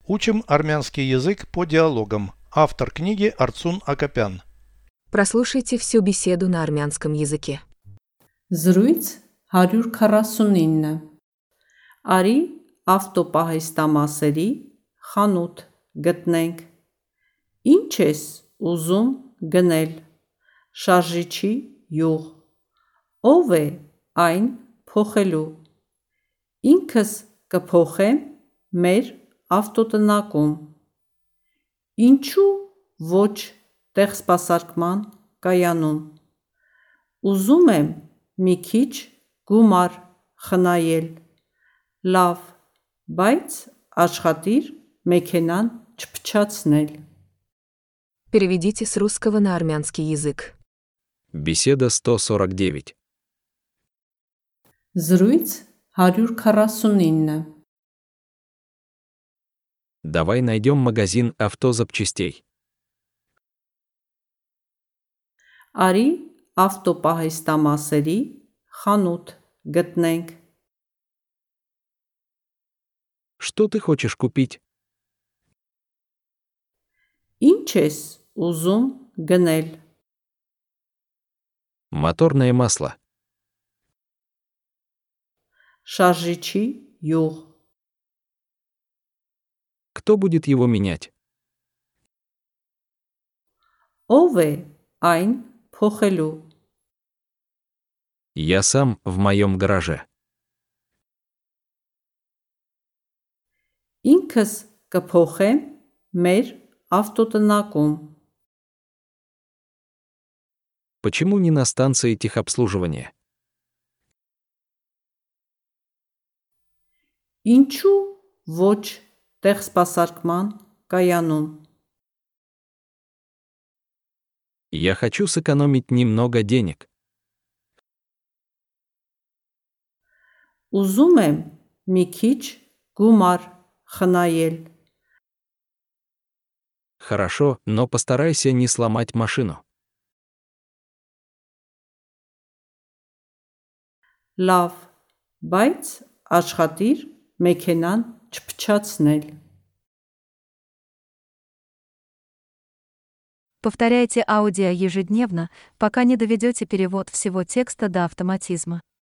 Учим армянский язык по диалогам. Автор книги Арцун Акопян. Прослушайте всю беседу на армянском языке. Զրույց 149 Արի ավտոպահեստամասերի խանութ գտնենք։ Ինչ ես ուզում գնել։ Շարժիչի յուղ։ Ով է այն փոխելու։ Ինքս կփոխեմ մեր ավտոտնակում։ Ինչու ոչ տեղսպասարկման կայանում։ Ուզում եմ մի քիչ գումար խնայել։ Լավ, բայց աշխատիր մեքենան չփչացնել։ Переведите с русского на армянский язык. Беседа 149. Զրույց 149 Давай найдем магазин автозапчастей. Արի ավտոպահեստամասերի խանութ գտնենք։ Что ты хочешь купить? Ինչ ես ուզում գնել։ Моторное масло. Շարժիչի յուղ։ Кто будет его менять? Ով է այն փոխելու։ Я сам в моем гараже. Ինքս կփոխեմ մեր ավտոտնակում։ Почему не на станции техобслуживания? Ինչու ոչ տեղսպասարկման կայանում։ Я хочу сэкономить немного денег. Ուզում եմ մի քիչ գումար խնայել։ Хорошо, но постарайся не сломать машину. Լավ, բայց աշխատիր մեքենան չփչացնել։ Повторяйте аудио ежедневно, пока не доведете перевод всего текста до автоматизма.